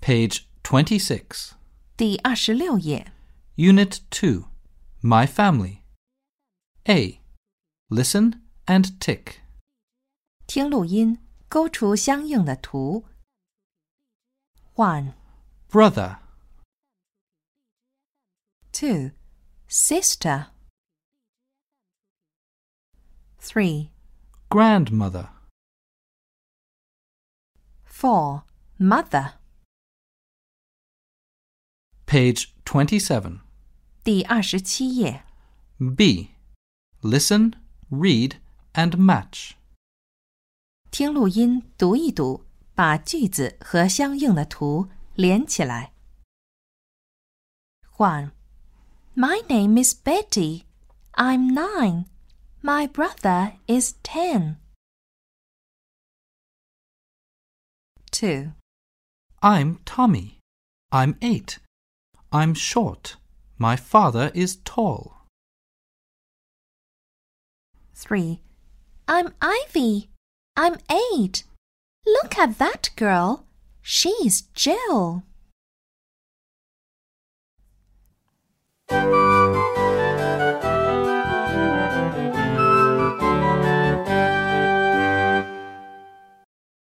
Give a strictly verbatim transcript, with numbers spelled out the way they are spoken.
Page twenty-six. 第二十六页。 Unit two. My family. A. Listen and tick. 听录音，勾出相应的图。one, Brother. two, sister. three, Grandmother. four, mother. Page twenty-seven. 第二十七页。 B. Listen, read, and match. 听录音，读一读，把句子和相应的图连起来。one. My name is Betty. I'm nine. My brother is ten. two. I'm Tommy. I'm eight. I'm short. My father is tall. three. I'm Ivy. I'm eight. Look at that girl. She's Jill.